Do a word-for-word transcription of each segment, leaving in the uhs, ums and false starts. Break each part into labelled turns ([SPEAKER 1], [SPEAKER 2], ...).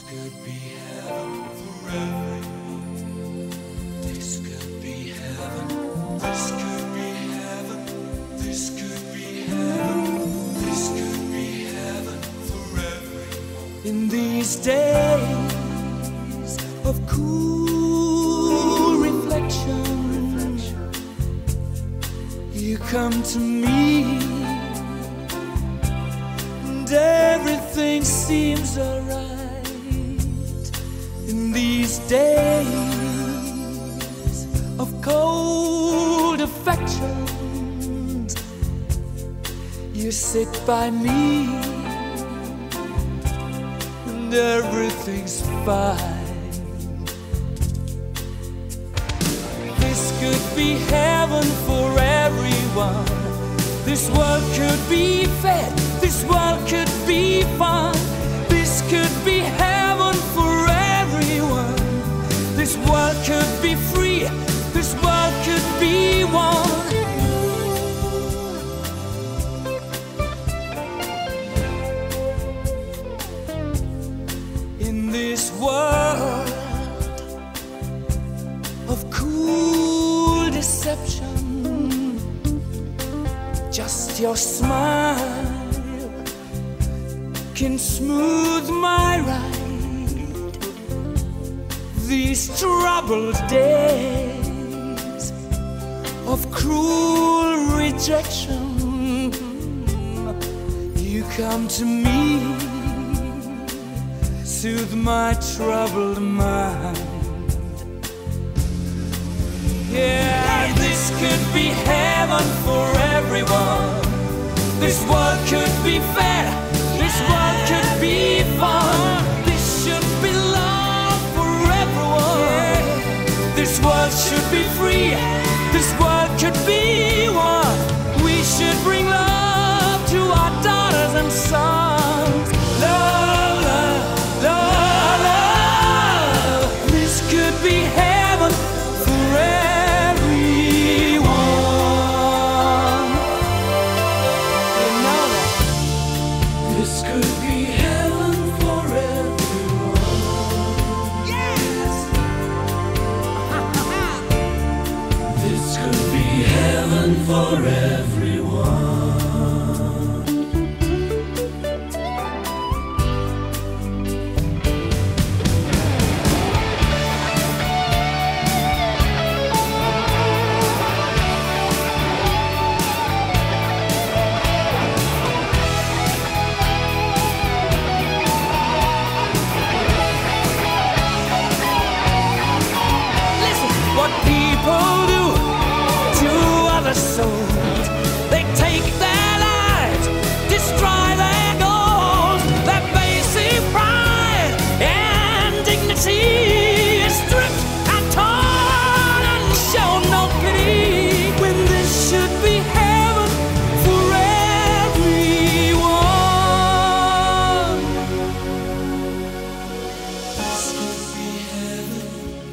[SPEAKER 1] could be heaven for everyone. This could be heaven. This could be heaven. This could be heaven. This could be heaven for everyone. In these days of cool reflection, you come to me, and everything seems alright. In these days of cold affections, you sit by me, and everything's fine. This could be heaven for everyone. This world could be fed. This world could be fun. This could be heaven for everyone. This world could be free. This world could be one. In this world of cool deception, just your smile can smooth my ride. These troubled days of cruel rejection, you come to me, soothe my troubled mind. Yeah, this could be heaven for everyone. This world could be fair. This world could be fun. This should be love for everyone. This world should be free. This world could be one. We should bring love to our daughters and sons. Love, love, love, love. This could be heaven for everyone. You know that. This could be heaven for everyone. Yes. This could be heaven for everyone. What people do to other souls, they take their lives, destroy their goals. Their basic pride and dignity is stripped and torn and shown no pity, when this should be heaven for everyone. This could be heaven.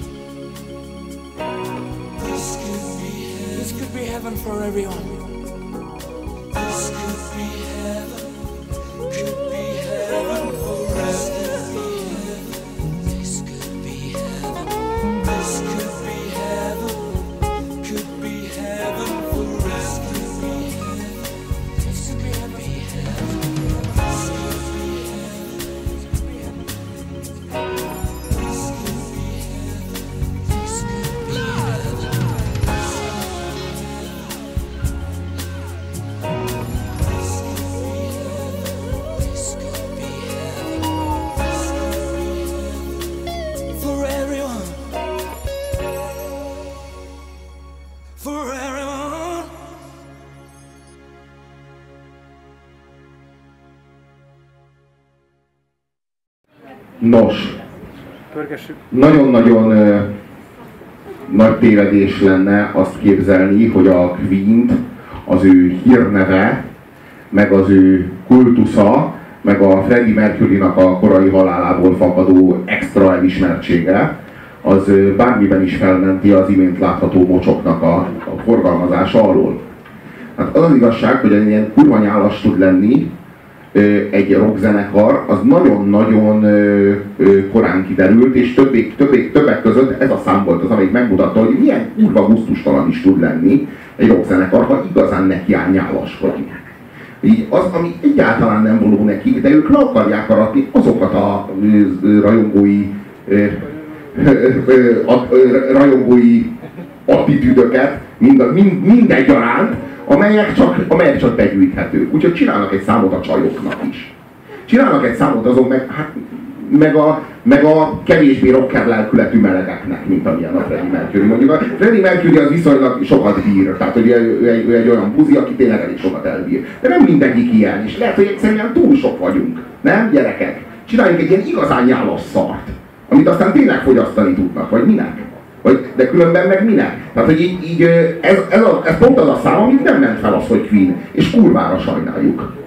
[SPEAKER 1] This could be heaven. This could be heaven for everyone. This could be heaven. Could be heaven for everyone. This could be heaven. This could be heaven. Could be heaven for everyone. This could be heaven. This could be heaven. This could be heaven. This could be heaven. This could be heaven. For everyone. For everyone.
[SPEAKER 2] Nos,
[SPEAKER 3] Pörgessük.
[SPEAKER 2] nagyon-nagyon ö, nagy tévedés lenne azt képzelni, hogy a Queen-t az ő hírneve, meg az ő kultusza, meg a Freddie Mercurynak a korai halálából fakadó extra elismertsége, az ö, bármiben is felmenti az imént látható mocsoknak a, a forgalmazása alól. Hát az az igazság, hogy egy ilyen kurva nyálas tud lenni, egy rockzenekar, az nagyon-nagyon korán kiderült, és többek, többek, többek között ez a szám volt az, amelyik megmutatta, hogy milyen kurva gusztustalan is tud lenni egy rockzenekar, ha igazán nekiáll nyálaskodni. Így az, ami egyáltalán nem való nekik, de ők le akarják aratni azokat a rajongói rajongói attitűdöket, mind, mind, mindegyaránt, amelyek csak, amelyek csak begyűjthetők. Úgyhogy csinálnak egy számot a csajoknak is. Csinálnak egy számot azok meg, hát, meg, a, meg a kevésbé rocker lelkületű melegeknek, mint amilyen a Freddie Mercury. Mondjuk a Freddie Mercury az viszonylag sokat bír, tehát hogy ő, ő, ő egy olyan buzi, aki tényleg elég sokat elbír. De nem mindegyik ilyen, és lehet, hogy egyszerűen túl sok vagyunk. Nem, gyerekek? Csináljunk egy ilyen igazán nyálas szart, amit aztán tényleg fogyasztani tudnak, vagy minek? Vagy, de különben meg minek? Tehát, hogy így, így ez, ez, a, ez pont az a szám, amit nem ment fel az, hogy Queen, és kurvára sajnáljuk.